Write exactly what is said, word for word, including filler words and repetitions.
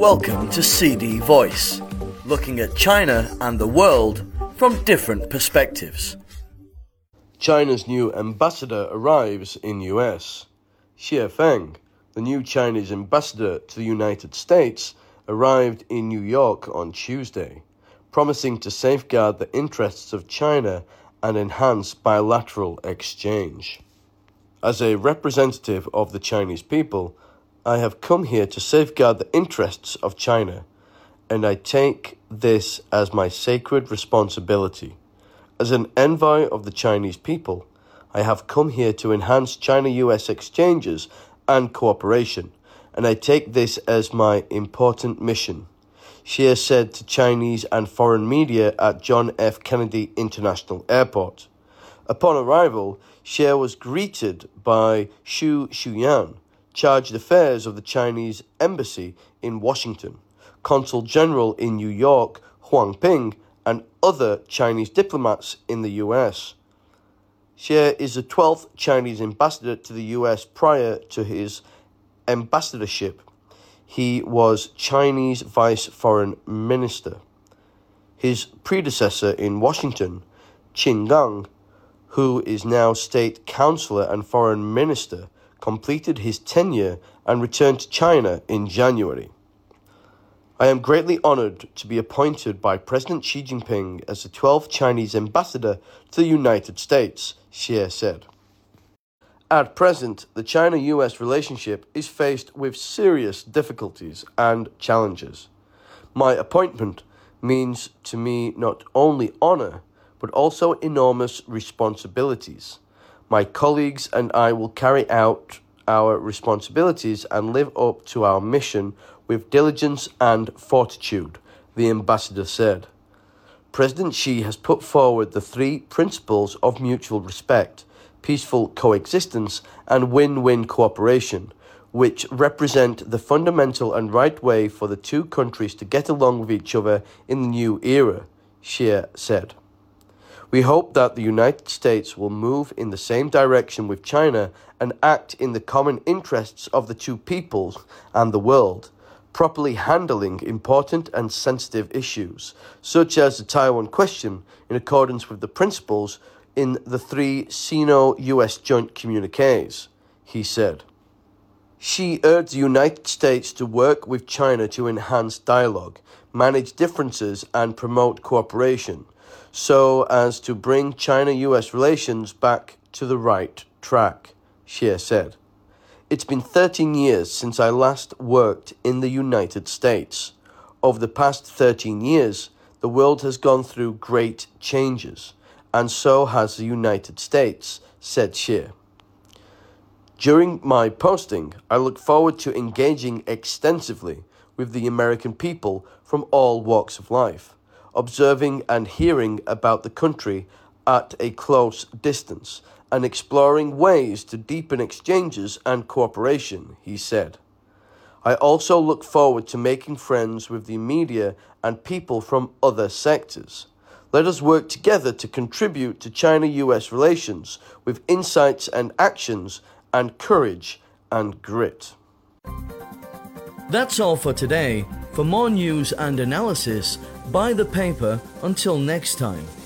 Welcome to C D Voice, looking at China and the world from different perspectives. China's new ambassador arrives in U S. Xie Feng, the new Chinese ambassador to the United States, arrived in New York on Tuesday, promising to safeguard the interests of China and enhance bilateral exchange. As a representative of the Chinese people, I have come here to safeguard the interests of China, and I take this as my sacred responsibility. As an envoy of the Chinese people, I have come here to enhance China-U S exchanges and cooperation, and I take this as my important mission, Xie said to Chinese and foreign media at John F. Kennedy International Airport. Upon arrival, Xie was greeted by Xu Xuyan, Chargé d'Affaires of the Chinese Embassy in Washington, Consul General in New York, Huang Ping, and other Chinese diplomats in the U S. Xie is the twelfth Chinese ambassador to the U S prior to his ambassadorship. He was Chinese Vice Foreign Minister. His predecessor in Washington, Qin Gang, who is now State Councilor and Foreign Minister, completed his tenure and returned to China in January. I am greatly honored to be appointed by President Xi Jinping as the twelfth Chinese ambassador to the United States, Xie said. At present, the China-U S relationship is faced with serious difficulties and challenges. My appointment means to me not only honor, but also enormous responsibilities. My colleagues and I will carry out our responsibilities and live up to our mission with diligence and fortitude, the ambassador said. President Xi has put forward the three principles of mutual respect, peaceful coexistence, and win-win cooperation, which represent the fundamental and right way for the two countries to get along with each other in the new era, Xie said. We hope that the United States will move in the same direction with China and act in the common interests of the two peoples and the world, properly handling important and sensitive issues, such as the Taiwan question, in accordance with the principles in the three Sino-U S joint communiques, he said. Xi urged the United States to work with China to enhance dialogue, manage differences, and promote cooperation, so as to bring China-U S relations back to the right track, Xie said. It's been thirteen years since I last worked in the United States. Over the past thirteen years, the world has gone through great changes, and so has the United States, said Xie. During my posting, I look forward to engaging extensively with the American people from all walks of life, observing and hearing about the country at a close distance, and exploring ways to deepen exchanges and cooperation, he said. I also look forward to making friends with the media and people from other sectors. Let us work together to contribute to China-U S relations with insights and actions and courage and grit. That's all for today. For more news and analysis, buy the paper. Until next time.